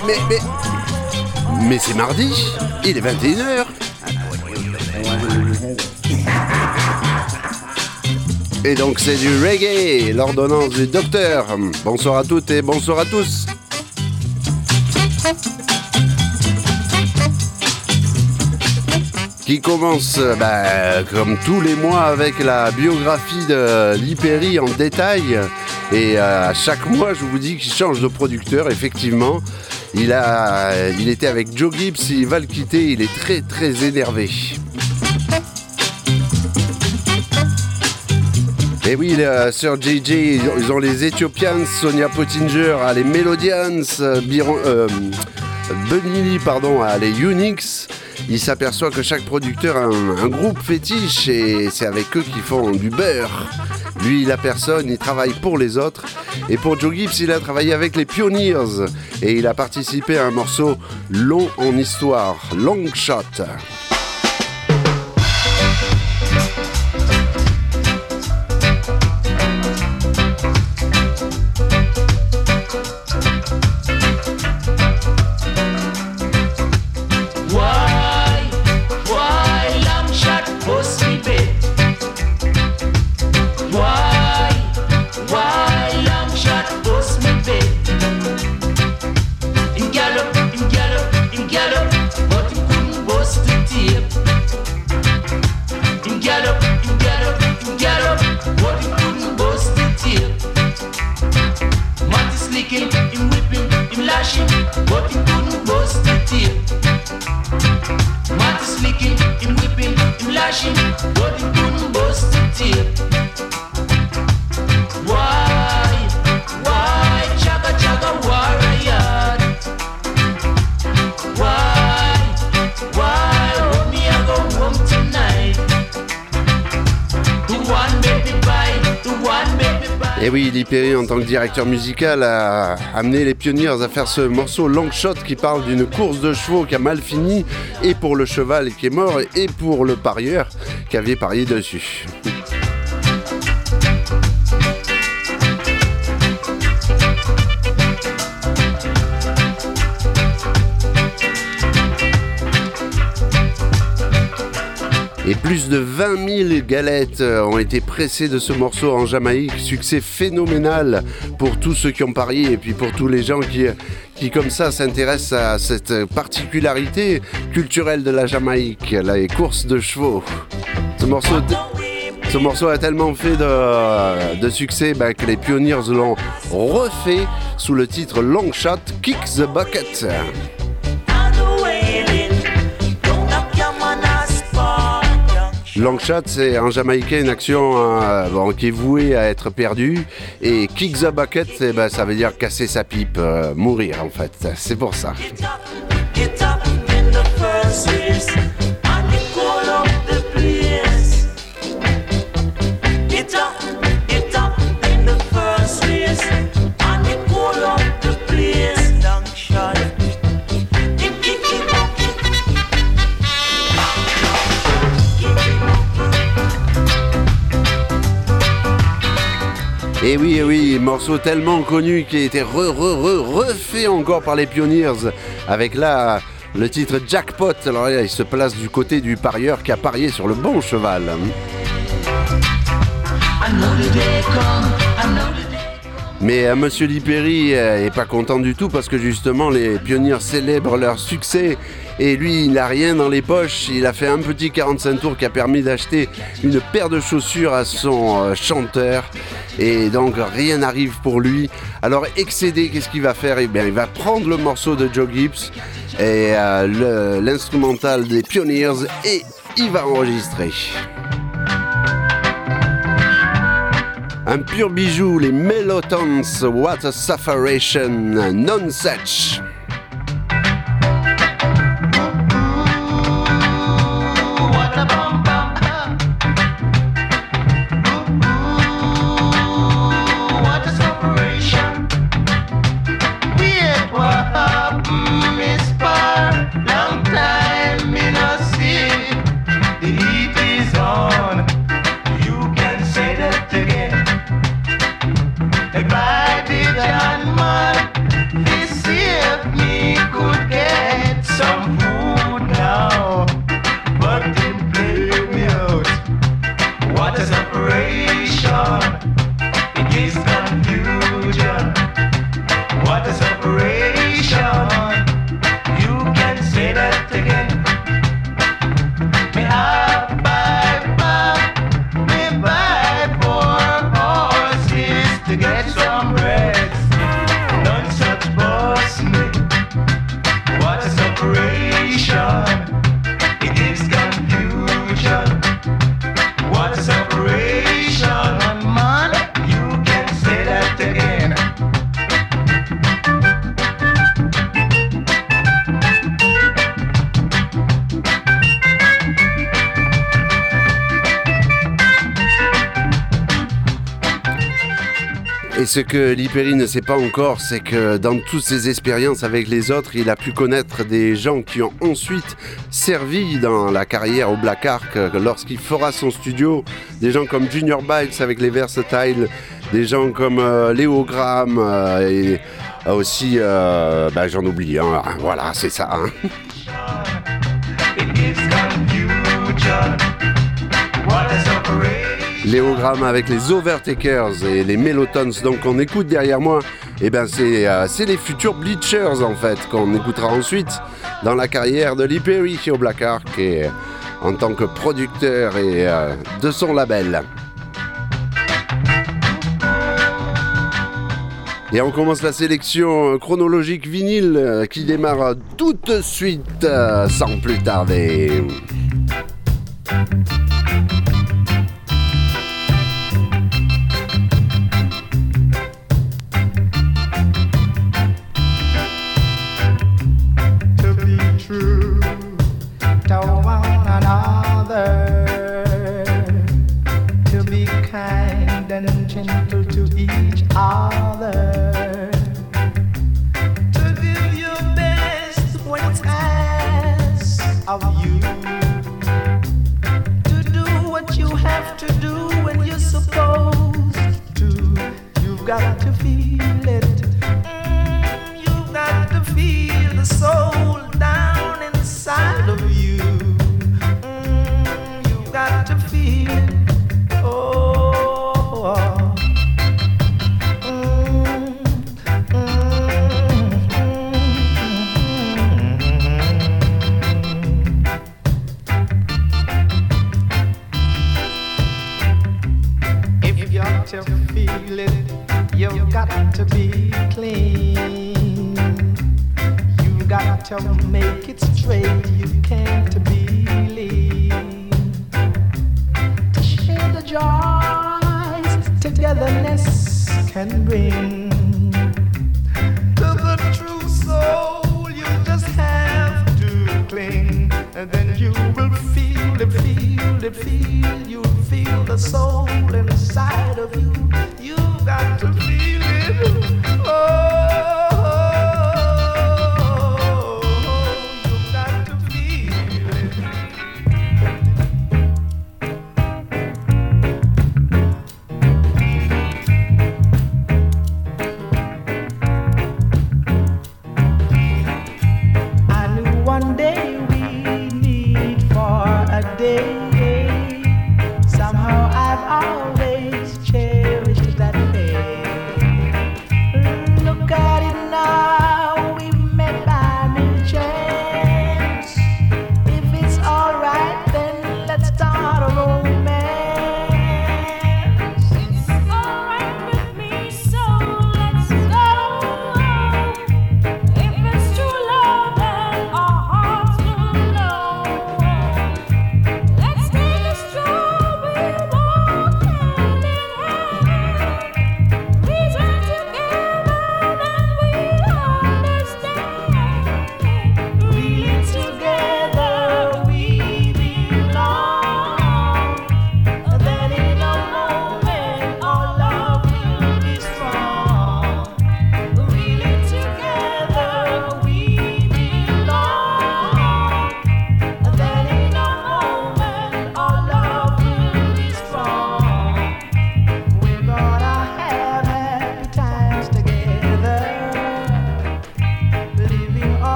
Mais c'est mardi, il est 21h. Et donc c'est du reggae, l'ordonnance du docteur. Bonsoir à toutes et bonsoir à tous. Qui commence comme tous les mois avec la biographie de Lee Perry en détail. Et à chaque mois, je vous dis qu'il change de producteur, effectivement. Il était avec Joe Gibbs, il va le quitter, il est très très énervé. Et oui, Sir JJ, ils ont les Ethiopians, Sonia Pottinger a les Melodians, Bunny Lee, a les Unix. Il s'aperçoit que chaque producteur a un groupe fétiche et c'est avec eux qu'ils font du beurre. Lui, il a personne, il travaille pour les autres. Et pour Joe Gibbs, il a travaillé avec les Pioneers et il a participé à un morceau long en histoire, Long Shot. Et oui, Lee Perry, en tant que directeur musical, a amené les Pioneers à faire ce morceau Long Shot qui parle d'une course de chevaux qui a mal fini, et pour le cheval qui est mort, et pour le parieur qui avait parié dessus. Et plus de 20 000 galettes ont été pressées de ce morceau en Jamaïque. Succès phénoménal pour tous ceux qui ont parié et puis pour tous les gens qui comme ça s'intéressent à cette particularité culturelle de la Jamaïque, les courses de chevaux. Ce morceau a tellement fait de succès que les Pioneers l'ont refait sous le titre Long Shot, Kick the Bucket. Long shot, c'est en jamaïcain une action qui est vouée à être perdue. Et kick the bucket, ça veut dire casser sa pipe, mourir en fait. C'est pour ça. Et oui, morceau tellement connu qui a été refait encore par les Pioneers avec là le titre Jackpot. Alors là, il se place du côté du parieur qui a parié sur le bon cheval. Mais Monsieur Lee Perry est pas content du tout parce que justement les Pioneers célèbrent leur succès et lui il n'a rien dans les poches. Il a fait un petit 45 tours qui a permis d'acheter une paire de chaussures à son chanteur et donc rien n'arrive pour lui. Alors excédé, qu'est-ce qu'il va faire? Eh bien il va prendre le morceau de Joe Gibbs et l'instrumental des Pioneers et il va enregistrer. Un pur bijou, les Melotons, What a Sufferation, Non-Such. By the John man, this year Et ce que Lee Perry ne sait pas encore, c'est que dans toutes ses expériences avec les autres, il a pu connaître des gens qui ont ensuite servi dans la carrière au Black Ark lorsqu'il fera son studio. Des gens comme Junior Byles avec les Versatile, des gens comme Léo Graham et aussi, j'en oublie, hein, voilà, c'est ça. Hein. Léo Graham avec les Overtakers et les Mellotons, donc on écoute derrière moi, c'est les futurs Bleachers en fait, qu'on écoutera ensuite dans la carrière de Lee Perry au Black Ark et en tant que producteur et de son label. Et on commence la sélection chronologique vinyle qui démarre tout de suite sans plus tarder.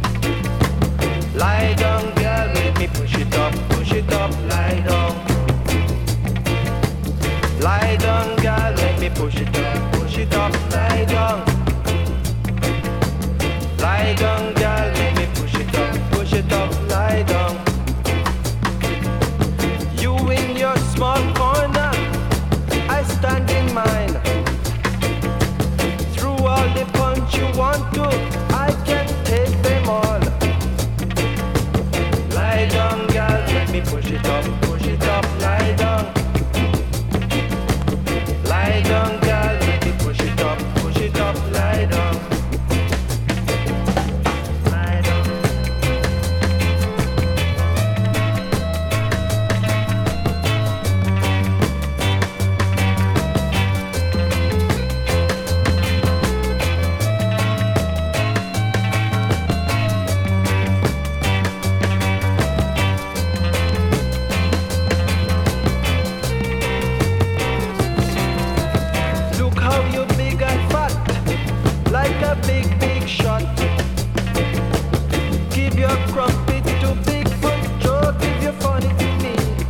Lie down, girl, make me push it up, lie down. If your crop is too big for joke, if you're funny to me.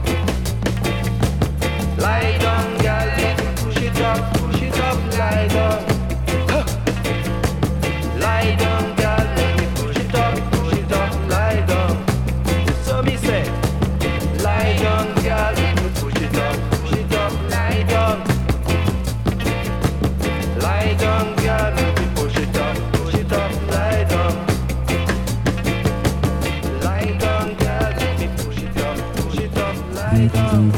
Lie down, girl, let me push it up, lie down. Huh. Lie down, girl, let me push it up, lie down. So me say, lie down, girl, let me push it up, lie down. Lie down, girl, let me push it up, lie down. Lie down, girl, let me push it up, lie down.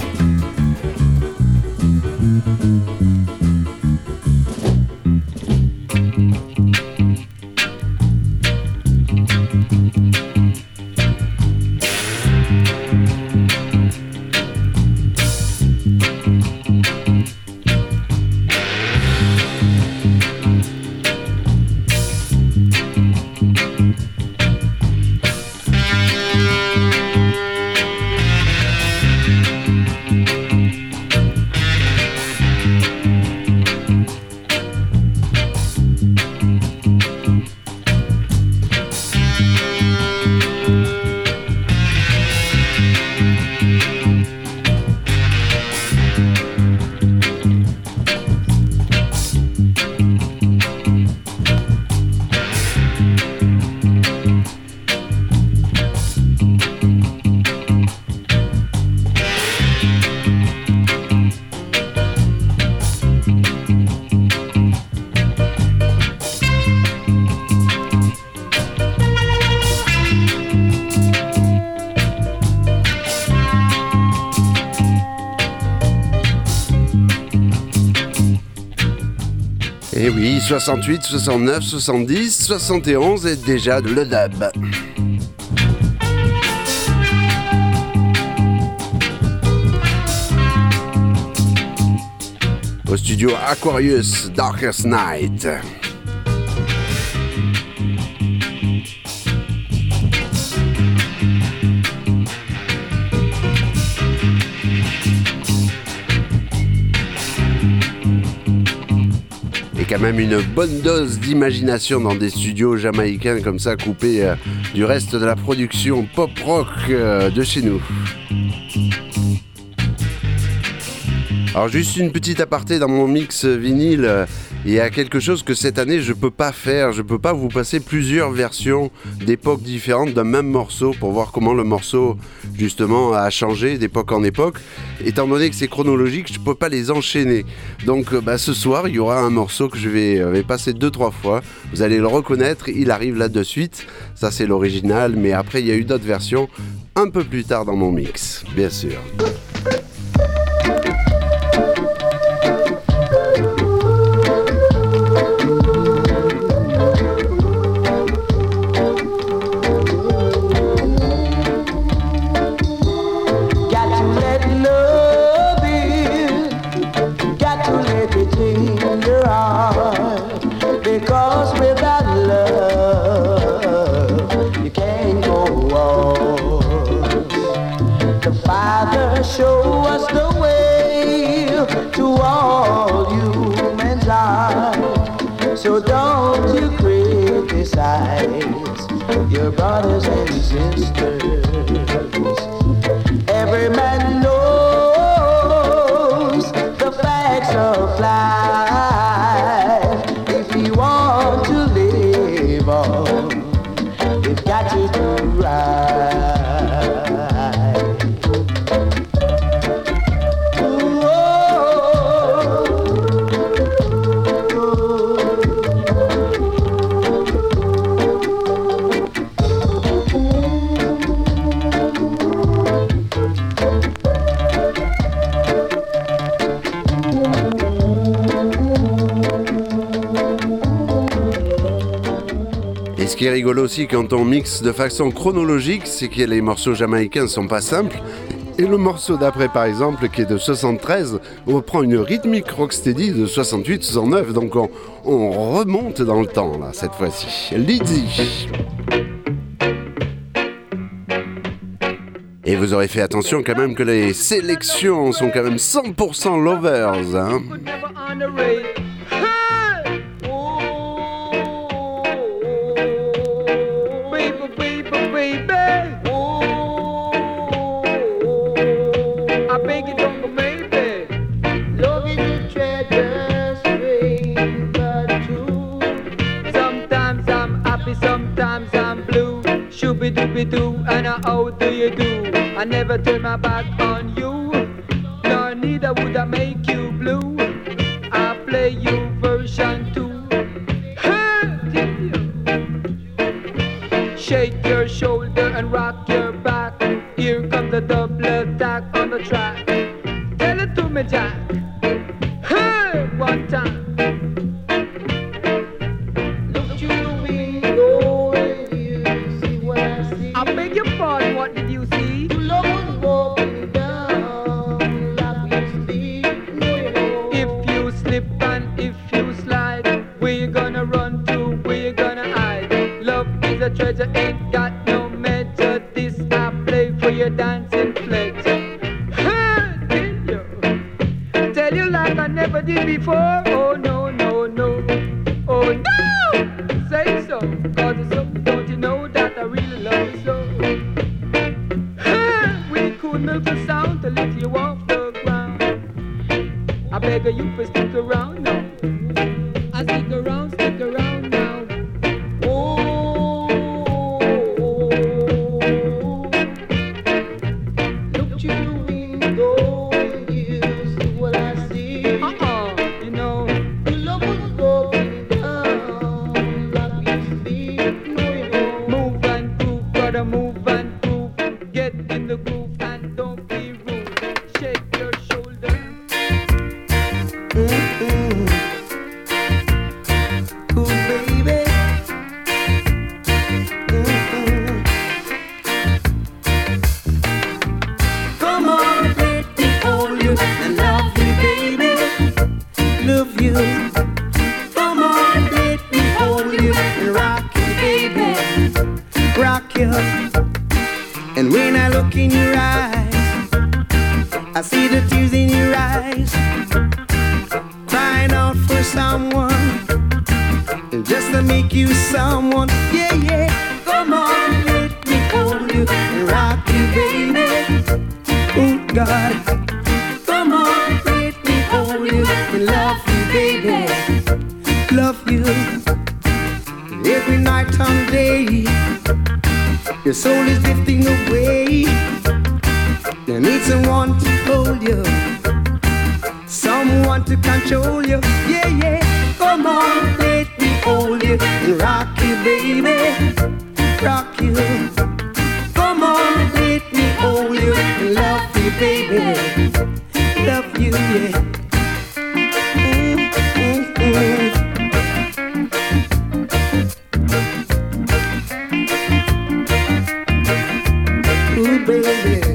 Et oui, 68, 69, 70, 71 et déjà le dub. Au studio Aquarius, Darkest Night. Quand même une bonne dose d'imagination dans des studios jamaïcains comme ça, coupés du reste de la production pop-rock de chez nous. Alors juste une petite aparté dans mon mix vinyle, il y a quelque chose que cette année je peux pas faire, je peux pas vous passer plusieurs versions d'époques différentes d'un même morceau pour voir comment le morceau justement a changé d'époque en époque. Étant donné que c'est chronologique, je peux pas les enchaîner. Donc ce soir il y aura un morceau que je vais passer 2-3 fois, vous allez le reconnaître, il arrive là de suite, ça c'est l'original, mais après il y a eu d'autres versions un peu plus tard dans mon mix, bien sûr. Show us the way to all human life. So don't you criticize your brothers and sisters. Every man knows the facts of life. If you want to live on, you've got to do right. Ce qui est rigolo aussi quand on mixe de façon chronologique, c'est que les morceaux jamaïcains sont pas simples. Et le morceau d'après, par exemple, qui est de 73, on reprend une rythmique rocksteady de 68-69. Donc on remonte dans le temps, là, cette fois-ci. Lizzy. Et vous aurez fait attention quand même que les sélections sont quand même 100% lovers, hein. for baby. Oh, I beg you don't go maybe. love is a treasure, strange but true. Sometimes I'm happy, sometimes I'm blue. Shooby dooby doo, and how do you do? I never turn my back on you, nor neither would I make you blue. I play you version 2. Shake your shoulder and rock your back. Here comes the double attack on the track. Tell it to me, Jack. Hey, one time. Look through the window and you see what I see. I beg your pardon, what did you see? Your love was walking down like we sleep. No, you know. If you slip and if you slide, where you gonna run to, where you gonna hide? Love is a treasure, ain't got no measure. This I play for your dancing pleasure. Tell you like I never did before. Oh no, no, no. Oh no! Say so, cause it's so. Don't you know that I really love you so? We could milk the sound to lift you off the ground. I beg of you for stick around now. I stick around now. Oh, look through the window and you see what I see. You know. Your love was walking down like we sleep. No, you know. Move and groove, brother, move and groove. Get in the groove and don't be rude. Shake your shoulder. Ooh, baby. Come on, let me hold you and love you, baby. Love you. Come on, let me hold you and rock you, baby. Rock you. And when I look in your eyes, I see the tears in your eyes, crying out for someone, just to make you someone. Yeah, yeah. Come on, let me hold you and rock you, baby. Oh God. Come on, let me hold you and love you, baby. Love you. Every night and day, your soul is drifting away. You need someone to hold you, someone to control you. Yeah, yeah. Come on, let me hold you and rock you, baby. Rock you. Come on, let me hold you and love you, baby. Love you, yeah. Ooh, baby.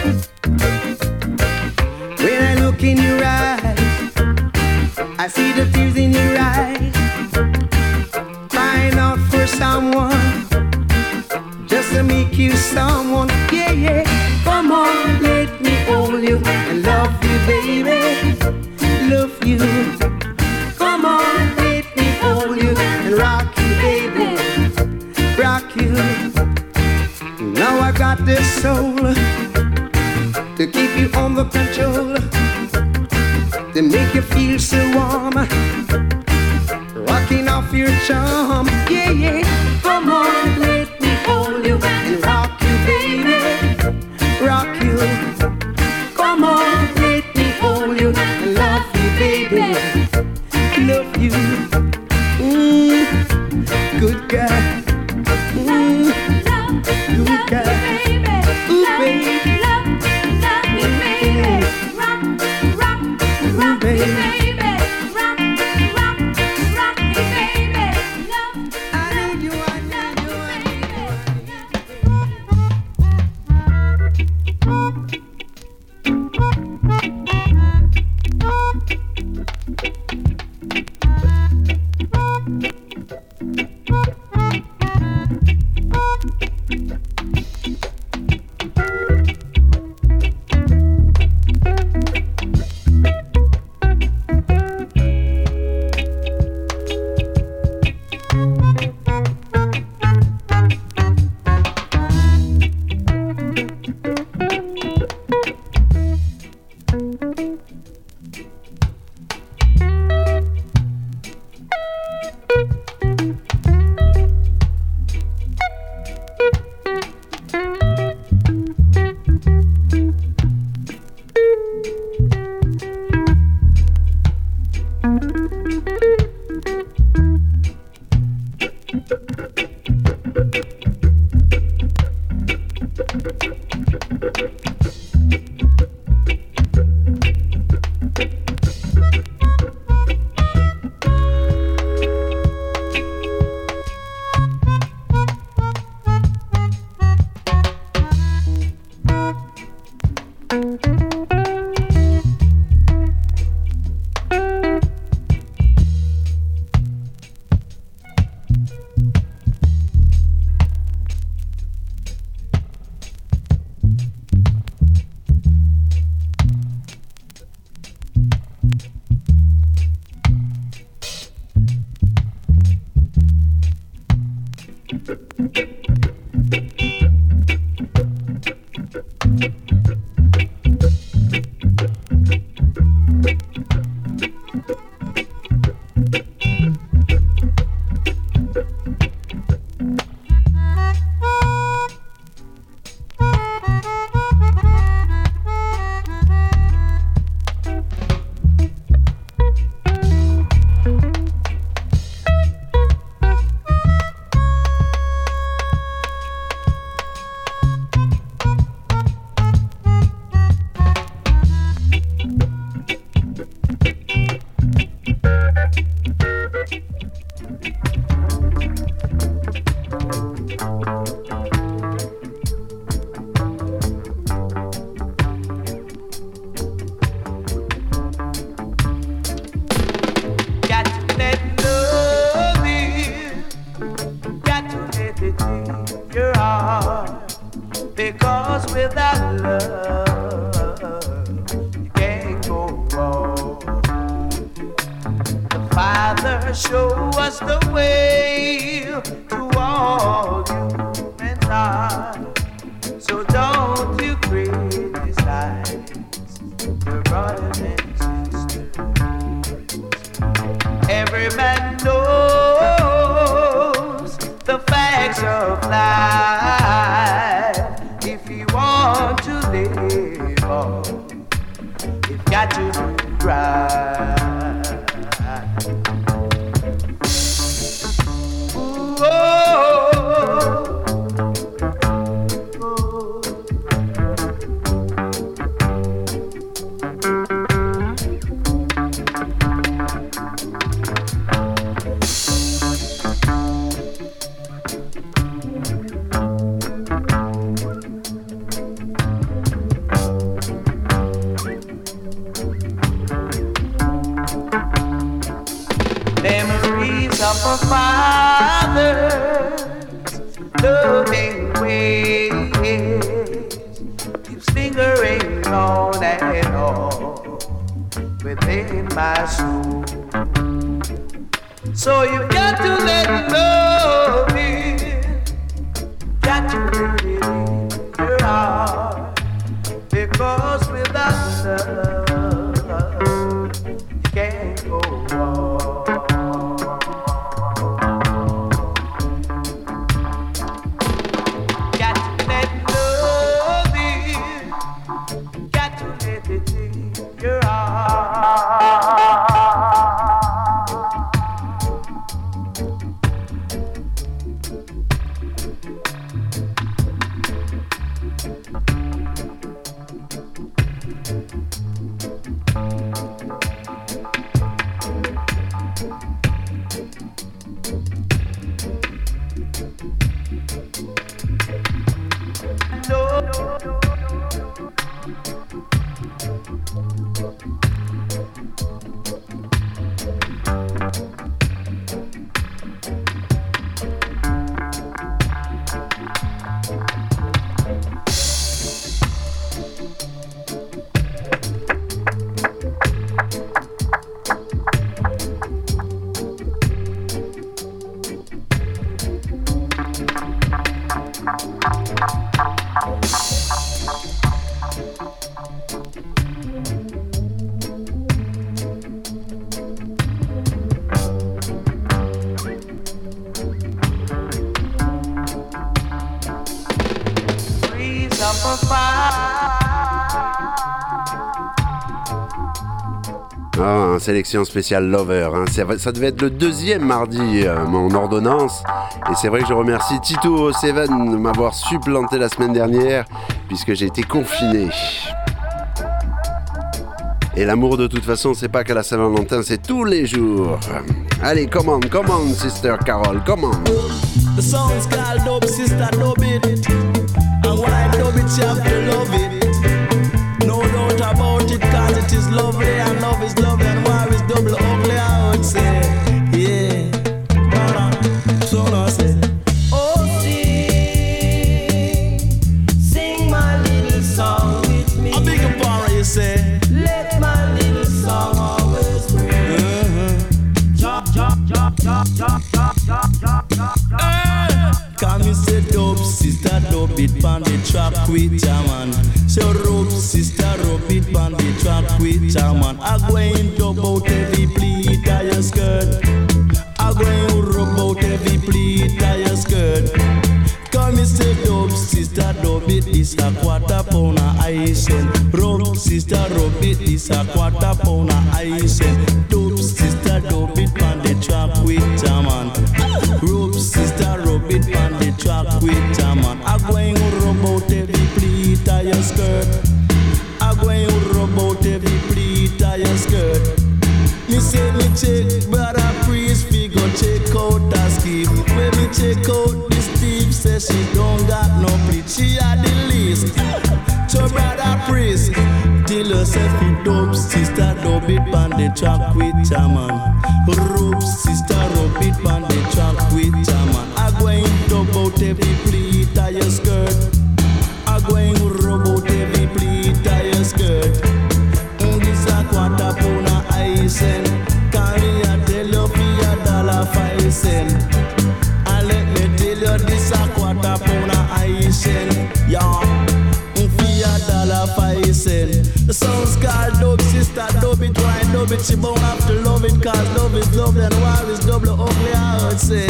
When I look in your eyes, I see the tears in your eyes, crying out for someone, just to make you someone. Yeah, yeah. Come on, let me hold you and love you, baby. Love you. Come on, let me hold you and rock you, baby. Rock you. Now I got this soul to keep you under control, to make you feel so warm, rocking off your charm. Yeah, yeah. Come on, let me hold you and rock you, baby. Rock you. Come on, let me hold you and love you, baby. Love you. Good guy. Good guy. Ooh, baby. Ah, sélection spéciale Lover, hein. Ça devait être le deuxième mardi, mon ordonnance. Et c'est vrai que je remercie Tito Seven de m'avoir supplanté la semaine dernière, puisque j'ai été confiné. Et l'amour, de toute façon, c'est pas qu'à la Saint-Valentin, c'est tous les jours. Allez, come on, Sister Carol, come on. The song's called Dub Sister Dub It. And when I dub it, you have to love it. No doubt about it, cause it is lovely. And love is lovely, and war is double ugly, I would say. Yeah. So now say, oh, sing my little song with me. A big part, you say. Let my little song always ring. Chop, chop, chop, chop, chop, chop, chop, chop, chop. Come, you say, dub, sister, dub it. it on the track with ya man. So rub sister, rub it on the track with ya man. I go and dub out every pleat of your skirt. I go and rub out every pleat of your skirt. Come and say dub sister, dub it, this a quarter pound of ice. Rub sister, rub it, this a quarter pound of ice. Dub sister, dub it on the track with ya man. Rub sister, rub it on the track with ya man. I go and rub out every pleat of your skirt. I go and rub out every pleat of your skirt. Me say me check brother priest, we go check out the skip. When me check out the Steve, say she don't got no pleat, she had the least. So brother priest, tell yourself you dope, sister dub it on the track with ya man. Rub sister rub it on the track with ya man. I go and dub out every pleat of your skirt. I go and rub out every pleat of your skirt. This a quarter pound of ice and carry a tell you for $1.05. And let me tell you this a quarter pound of ice and yeah, for $1.05. The song's called Dub Sister, dub it, why dub it? She bound have to love it, cause love is love and war is double ugly, I would say.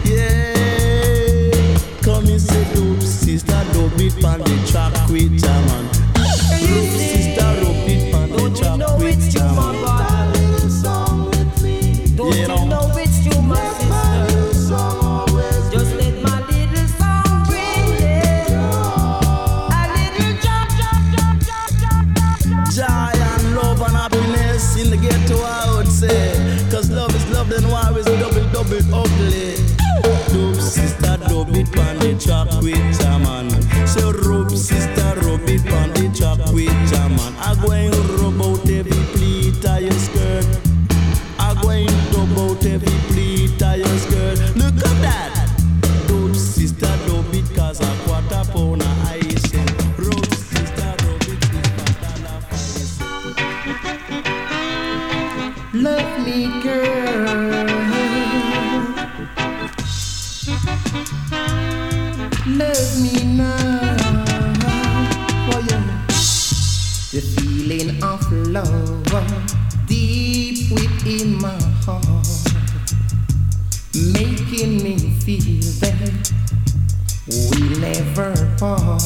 Yeah, come and say Dub Sister, dub it on the track with ya man. Dub Sister, rub it on the track with ya man. Don't you know it's you, my sister? Just let my little song bring it. A little Joy and love and happiness in the ghetto, I would say. Cause love is love, then war is double ugly. Dub sister, dub it on the track with ya man. So rub sister, rub it on the track with ya man. I go and rub out every pleat of your skirt. I go and dub out every pleat of your skirt. Look at that. Dub sister, dub it cause a quarter pound of ice. Rub sister, rub it is $1.05. Love me, girl. Love me now. Oh, yeah. The feeling of love deep within my heart, making me feel that we never part.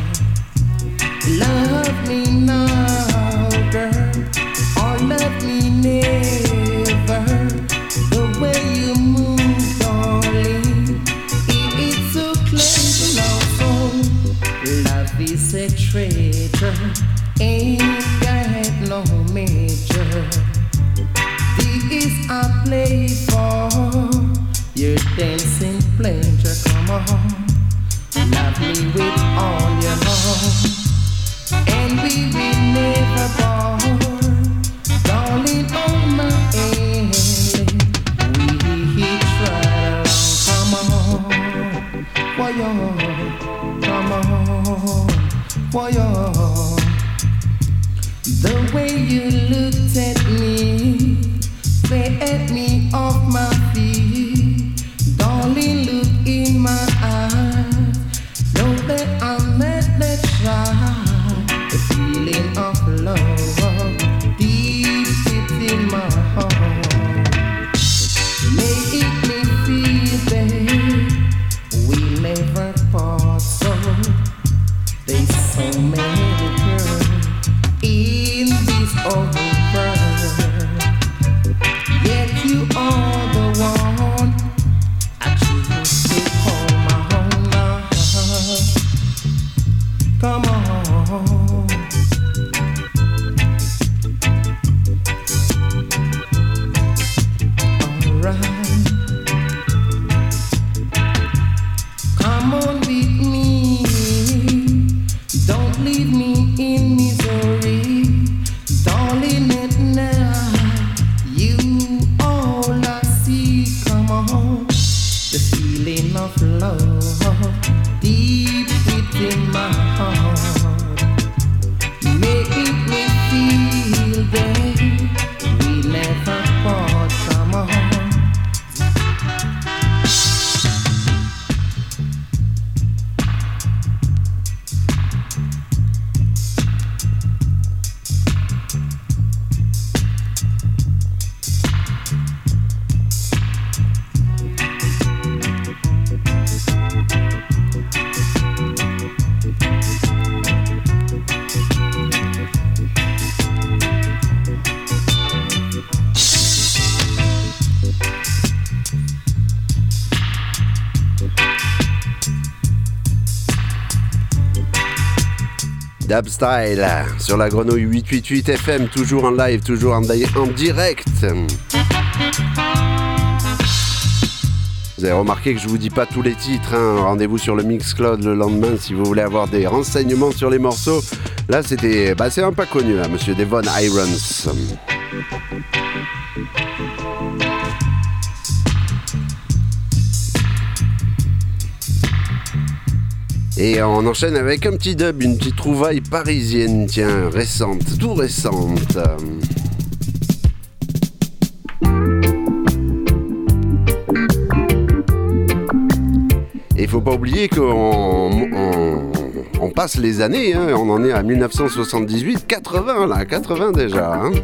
Love me now, girl, or love me never. The way you move, darling, it's so close now. Love is a treasure, ain't got no major. This I play for your dancing pleasure. Come on, love me with all your heart, and we will never part. Darling, on my end, we try. Come on, for you, come on, for you. The way you looked at me, set me off my feet. Darling, look in my eyes, know that I'm not that shy. The feeling of love deep within my heart, make me feel that we never part. So there's so many girls in this old world, yet you are the one I choose to call my own now. Come on, alright, come on with me, don't leave me in misery. Darling, at night, you all I see. Come on, the feeling of love deep within my heart, Dubstyle sur la Grenouille 888 FM, toujours en live, toujours en direct. Vous avez remarqué que je vous dis pas tous les titres, hein. Rendez-vous sur le Mixcloud le lendemain si vous voulez avoir des renseignements sur les morceaux. Là c'était, c'est un pas connu là, monsieur Devon Irons. Et on enchaîne avec un petit dub, une petite trouvaille parisienne, tiens, récente, tout récente. Et il faut pas oublier qu'on passe les années, hein, on en est à 1978, 80 là, 80 déjà. Hein.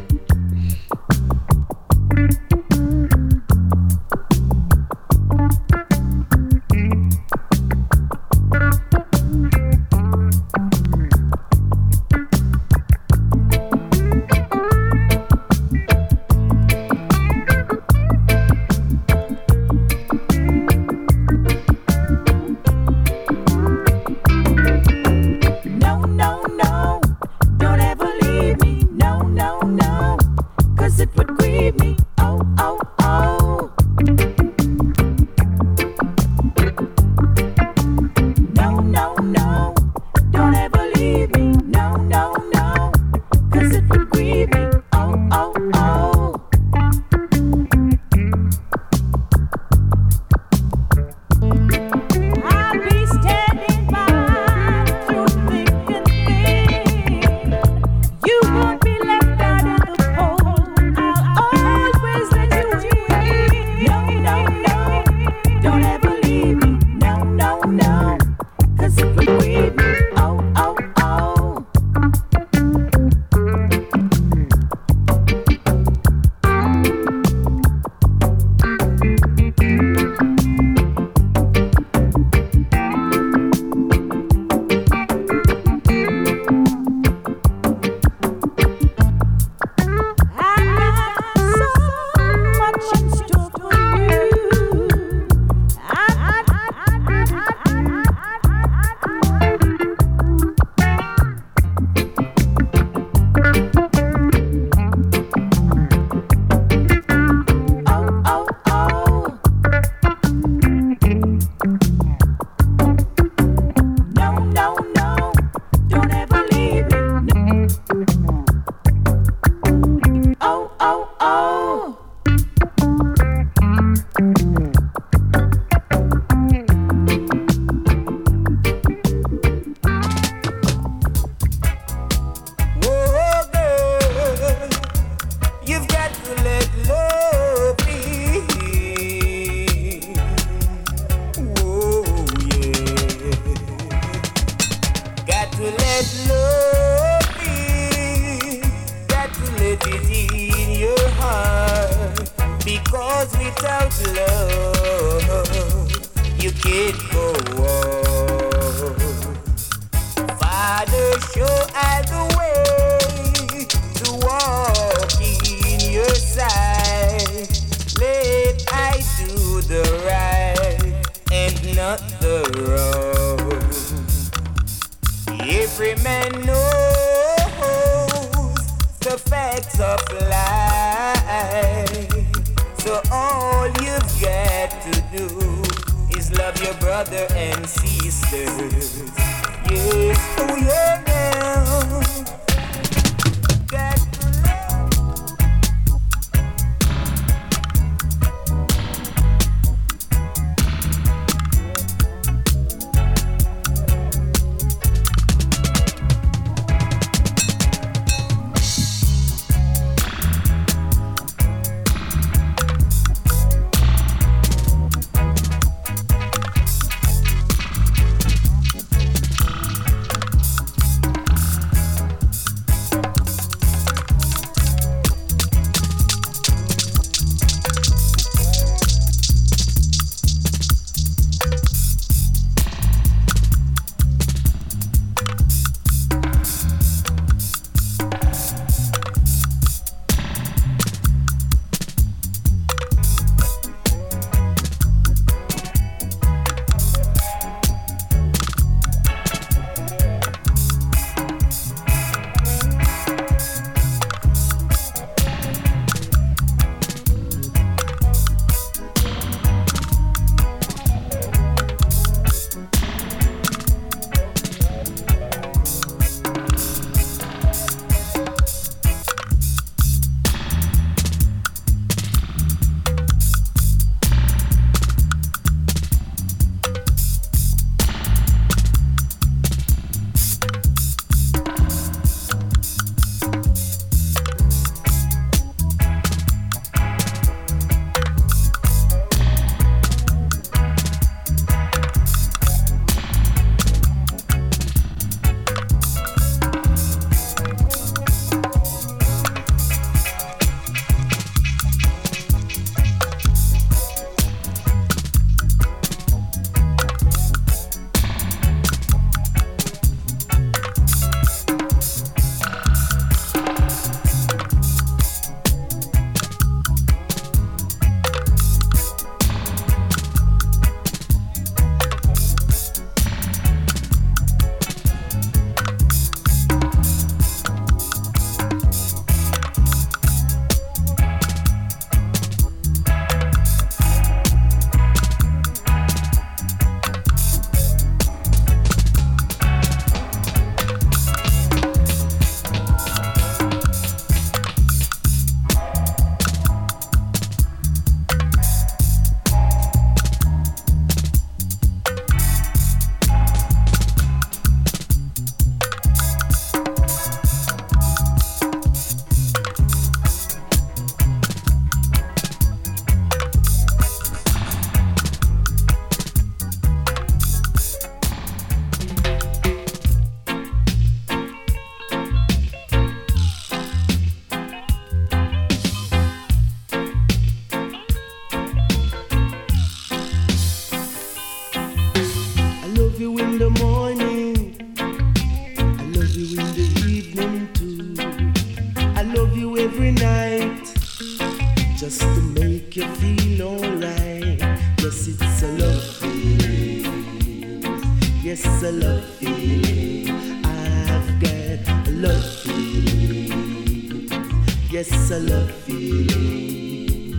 a love feeling.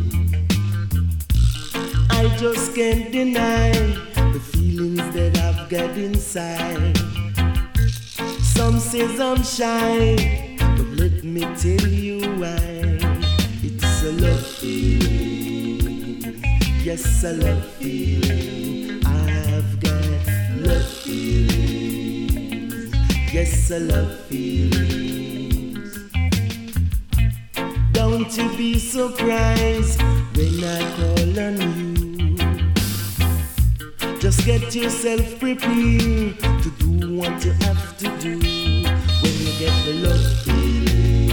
I just can't deny the feelings that I've got inside. Some says I'm shy, but let me tell you why. It's a love feeling. Yes, a love feeling. I've got love feelings. Yes, a love feelings. Don't you be surprised when I call on you. Just get yourself prepared to do what you have to do when you get the love feeling.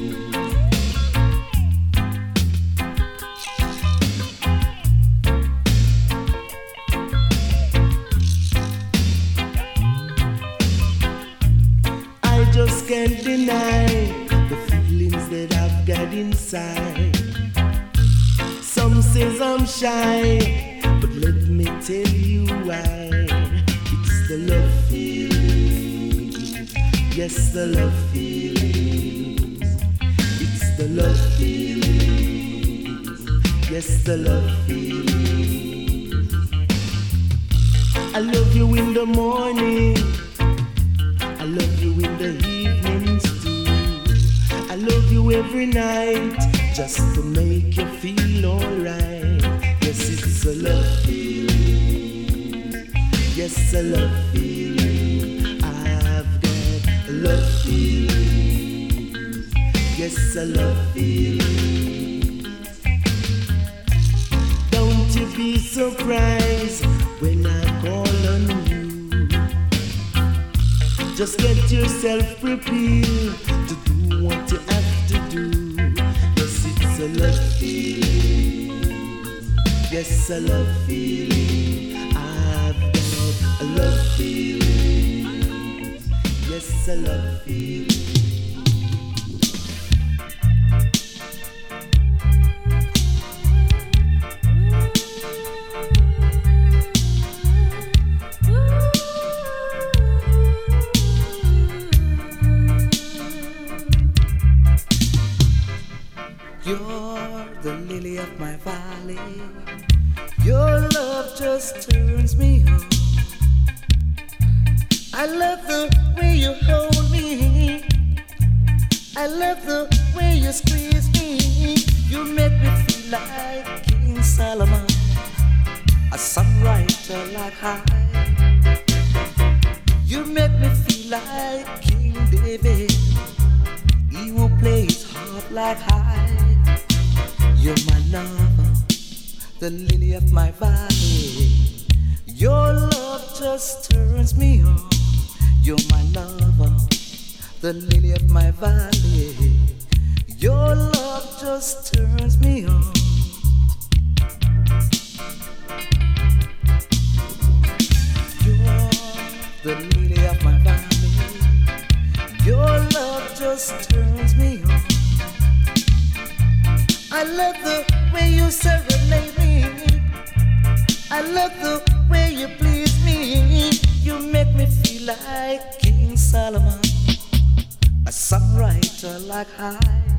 I just can't deny the feelings that I've got inside. Some says I'm shy, but let me tell you why. It's the love feeling. Yes, the love feelings. It's the love feelings. Yes, the love feelings. I love you in the morning. I love you in the evenings too. I love you every night just to make you feel alright. Yes, it's a love feeling. Yes, a love feeling. I've got a love feeling. Yes, a love feeling. Don't you be surprised when I call on you. Just get yourself prepared to do what you have to do. Yes, it's a love feeling. Yes, a love feeling. I've got a love feeling. Yes, a love feeling. You're the lily of my valley. Your love just turns me on. I love the way you hold me. I love the way you squeeze me. You make me feel like King Solomon, a songwriter like I. You make me feel like King David, he who plays harp like I. You're my lover, the lily of my valley. Your love just turns me on. You're my lover, the lily of my valley. Your love just turns me on. You're the lily of my valley. Your love just turns me on. I love the way you serenade me. I love the way you please me. You make me feel like King Solomon, a songwriter like I.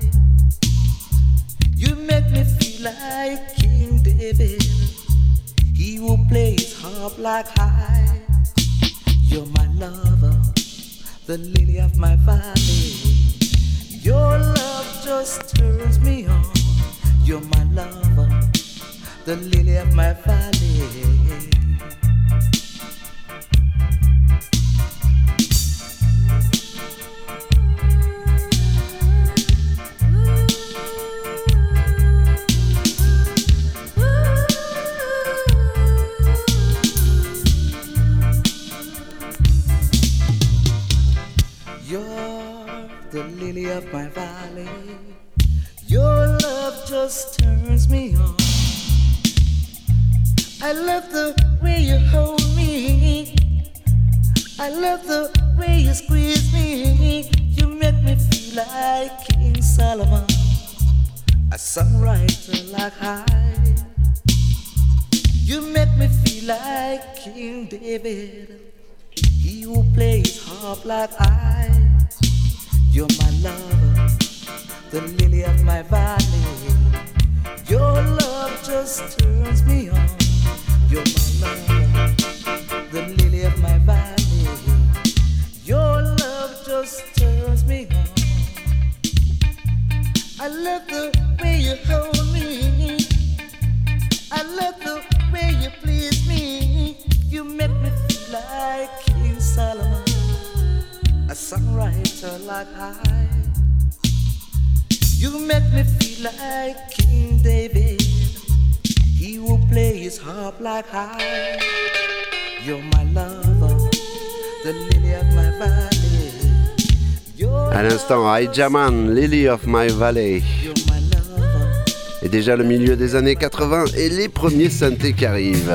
You make me feel like King David, he who plays harp like I. You're my lover, the lily of my valley. Your love just turns me on. You're my lover, the lily of my valley. You're the lily of my valley. Your love just turns me on. I love the way you hold me. I love the way you squeeze me. You make me feel like King Solomon, a songwriter like I. You make me feel like King David, he who plays harp like I. You're my lover, the lily of my valley. Your love just turns me on. You're my lover, the lily of my valley. Your love just turns me on. I love the way you hold me. I love the way you please me. You make me feel like King Solomon, a songwriter like I. You make me feel like King David, he will play his harp like I. You're my lover, the lily of my valley. À l'instant, Hijaman, Lily of My Valley. Et déjà le milieu des années 80 et les premiers synthés qui arrivent.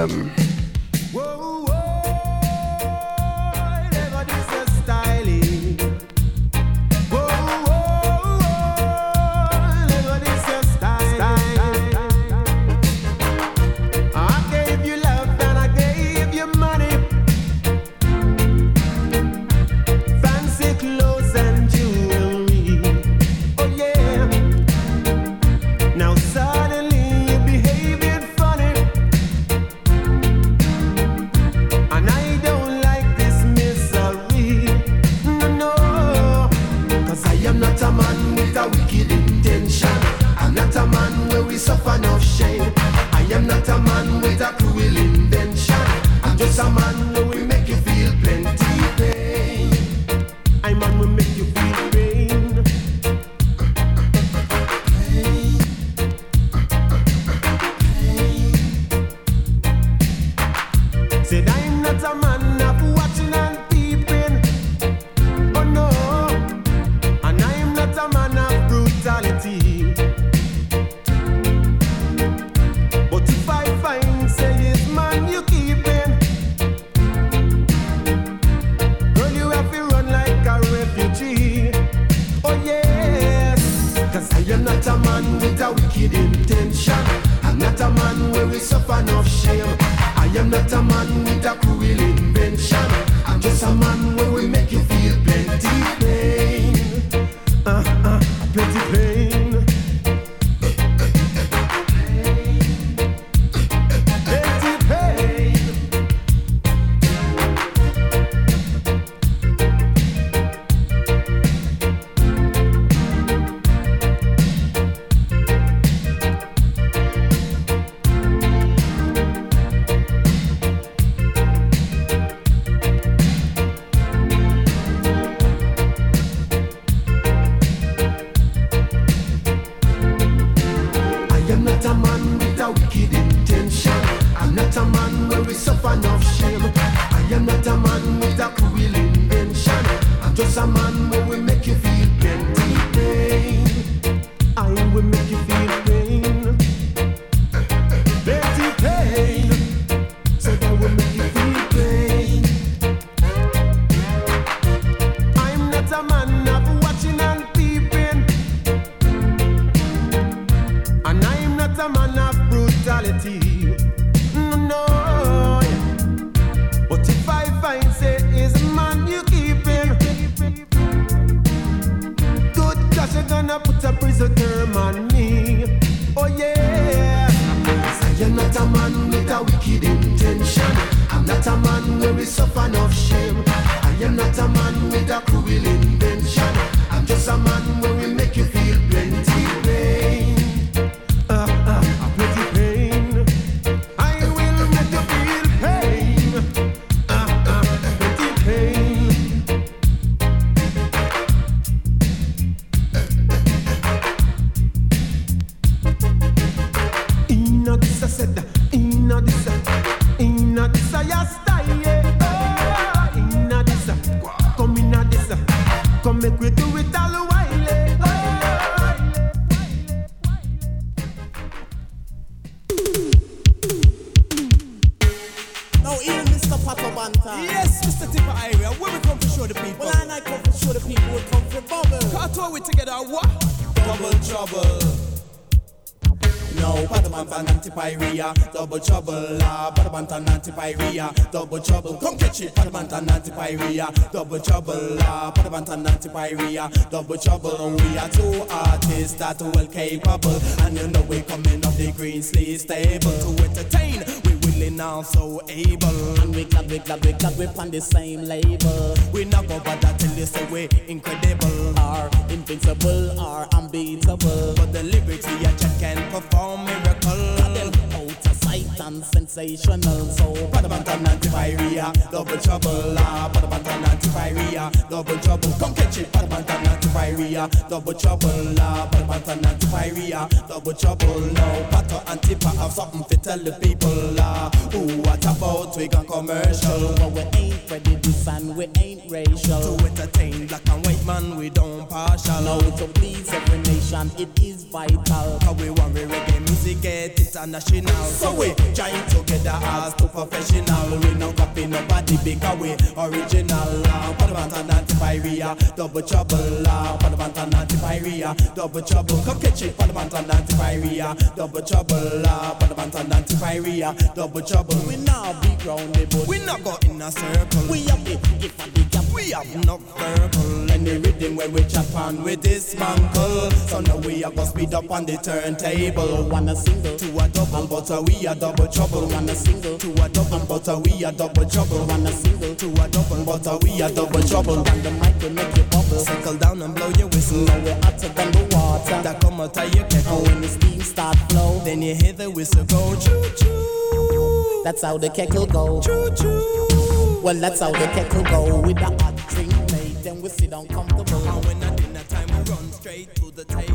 now. Patabantan anti-pyrea, double trouble. Patabantan anti-pyrea, double trouble. Come catch it. Patabantan anti-pyrea, double trouble. Patabantan anti-pyrea, double trouble. We are two artists that well capable, and you know we coming up the green sleeve stable to entertain. We willing also able, and we glad we on the same label. We not go bother till you say we incredible, or invincible, or unbeatable. But the lyrics we just can perform miracle. Them out of sight and sensational. So Patabantan anti-pyrea, double trouble. Patabantan anti-pyrea, double trouble. Come catch it. Patabantan anti-pyrea, double trouble. Patabantan anti-pyrea, double trouble. No pato antipa have something to tell the people. Ooh, what about we got commercial? But we ain't prejudice and we ain't racial. To entertain black and white man, we don't partial. No, to please every nation, it is vital. Cause we want reggae music get international. So we join together as two professional. We no copy nobody because we original. Patabantan anti-pyrea, double trouble. Patabantan anti-pyrea, double trouble. Come catch it. Patabantan anti-pyrea, double trouble. Patabantan anti-pyrea, double trouble. We now be grounded, but we not go in a circle. We have the gift of the gap. We have no verbal. Any rhythm where we chop on with this mangle. So now we are gonna speed up on the turntable. One a single to a double, but we are double trouble. One a single to a double, but we are double trouble. One a single to a double, but we are double trouble. And the mic will make you bubble. Circle down and blow your whistle. Now we're hotter than the water that come out of your kettle. And when the steam start flow, then you hear the whistle go choo choo. That's how the kettle go. Choo choo. Well, that's how the kettle go. With the hot drink made, then we sit down comfortable. And when at dinner time, we run straight to the table.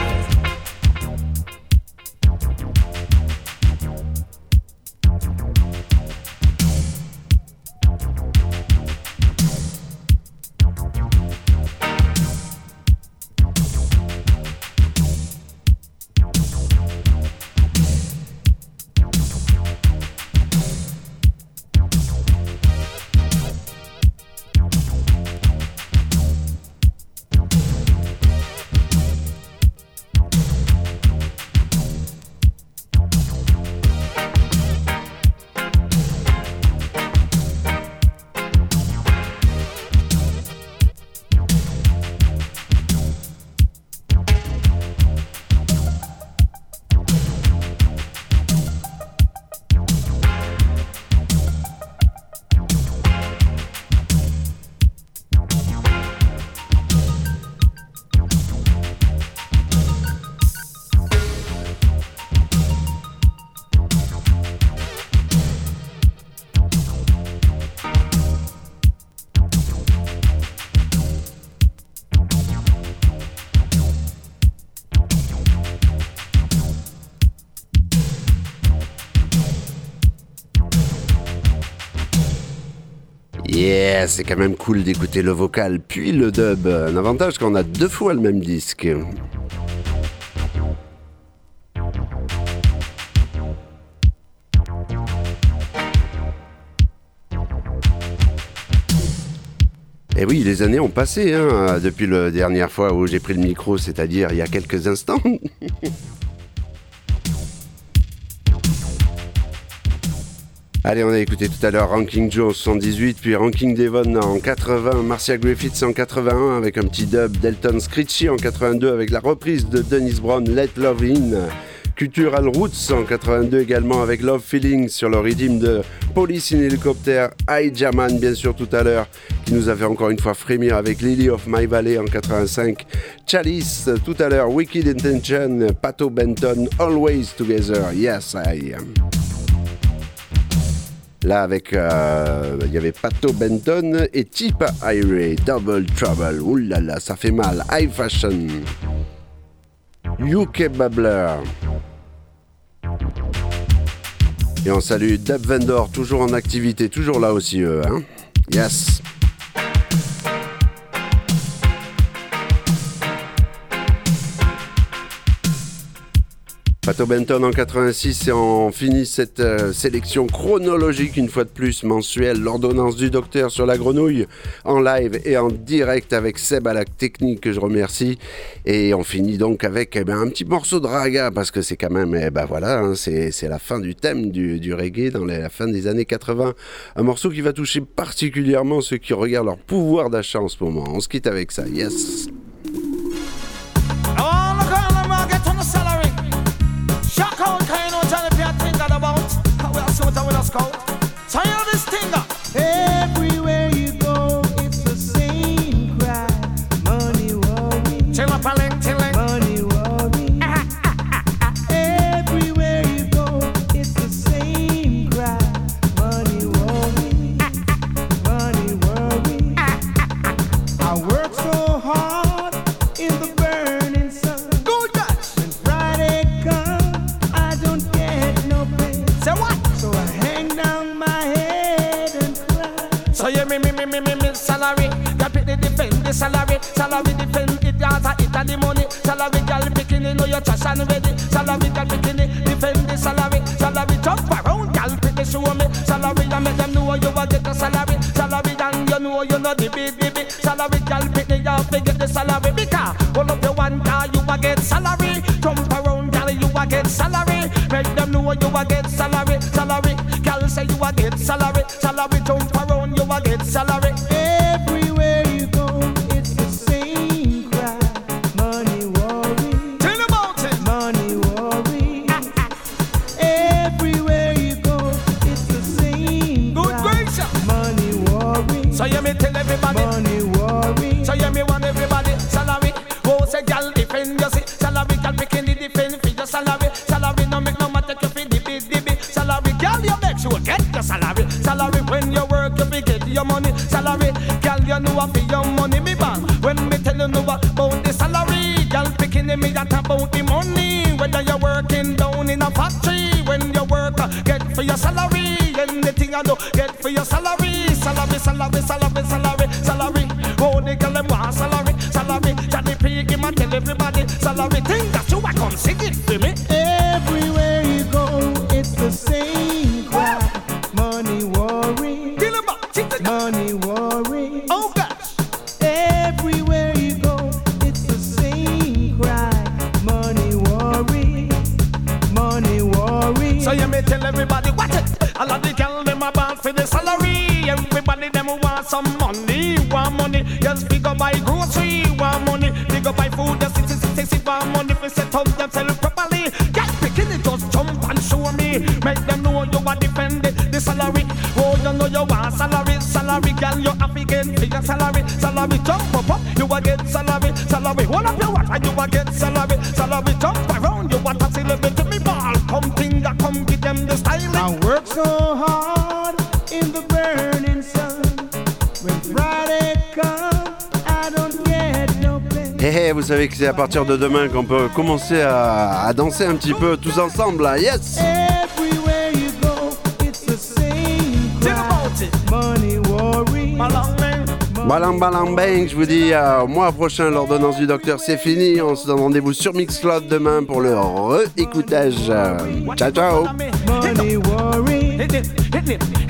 Yeah, c'est quand même cool d'écouter le vocal puis le dub. Un avantage qu'on a deux fois le même disque. Et oui, les années ont passé depuis la dernière fois où j'ai pris le micro, c'est-à-dire il y a quelques instants. Allez, on a écouté tout à l'heure Ranking Joe en 78, puis Ranking Devon en 80, Marcia Griffiths en 81 avec un petit dub, Delton Screechy en 82 avec la reprise de Dennis Brown, Let Love In, Cultural Roots en 82 également avec Love Feeling sur le rythme de Police in Helicopter, Jaman bien sûr tout à l'heure, qui nous a fait encore une fois frémir avec Lily of My Valley en 85, Chalice tout à l'heure, Wicked Intention, Pato Benton, Always Together, Yes I Am. Là, avec, il y avait Pato Benton et Tipa Irie, Double Trouble. Ouh là là, ça fait mal. High Fashion. UK Babbler. Et on salue Dub Vendor, toujours en activité, toujours là aussi, eux. Hein. Yes. Pato Benton en 86 et on finit cette sélection chronologique une fois de plus mensuelle, l'ordonnance du docteur sur la grenouille en live et en direct avec Seb à la technique que je remercie et on finit donc avec un petit morceau de raga parce que c'est quand même voilà hein, c'est la fin du thème du reggae dans la fin des années 80, un morceau qui va toucher particulièrement ceux qui regardent leur pouvoir d'achat en ce moment. On se quitte avec ça, yes. Shock out, kind of Johnny P. thinking about how we are so with us go. So you know this thing. Everywhere you go, it's the same cry. Money worry. Chill up, chilling. Money worry. Everywhere you go, it's the same cry. Money worry. Money worry. I work so hard in the burning sun. Good God. When Friday comes, I don't get no pay. Say what? So I hang down my head and cry. So you me salary. Girl pick the defend the salary. Salary defend it, dance it and the money. Salary girl picking it, know your trash and ready. Salary girl picking it, defend the salary. Salary jump around, girl pick the show me. Salary and make them know you will get the salary. Salary and you know the big. Salary girl pick the you forget the salary. Because all of the one car you will get salary. Jump around, girl you will get salary. Make them know you will get salary. Salary, girl say you will get salary. Salary jump around, you will get salary. Everywhere you go, it's the same cry. Money worry. Tell about it. Money worry. Everywhere you go, it's the same Good cry. gracious. Money worry. So you me tell everybody. Money worry. So you me want everybody. Salary. Oh, say girl defend you see. Salary girl picking the defend for your salary. Salary no make no matter if you dibby. Salary girl you make sure get your salary. Salary when you work you be get your money. Salary girl you know what for your money me bang. When me tell you know about the salary, girl picking me that about the money. Whether you're working down in a factory, when you work get for your salary. Anything I do get for your salary. Salary. Oh, they call them want salary. Johnny P. Him and tell everybody salary. Think that you are come sing it for me. Everywhere you go, it's the same cry. Money worry. Kill him up. Money worry. Oh gosh. Everywhere you go, it's the same cry. Money worry. Money worry. So you may tell everybody what it. All of the girl them about for the salary. Everybody them want some money. Want money. Just pick up buy grocery. Want money. Pick up buy food. Just sit want money. If set up themselves properly. Get picking it just jump and show me. Make them know you are defending the salary. Oh, you know you want salary. Salary girl you have to get for your salary. Salary jump up. You will get salary. Hold up your watch and you will get salary. Salary jump around. You want to celebrate me ball. Come finger, come give them the style. I work so hard in the burning sun. When Friday comes, I don't get no pay. Vous savez que c'est à partir de demain qu'on peut commencer à danser un petit peu tous ensemble là. Yes. Everywhere you go, it's the same cry. Money worry. Balang bang, je vous dis au mois prochain, l'ordonnance du docteur c'est fini. On se donne rendez-vous sur Mixcloud demain pour le réécoutage. Ciao. Money worry.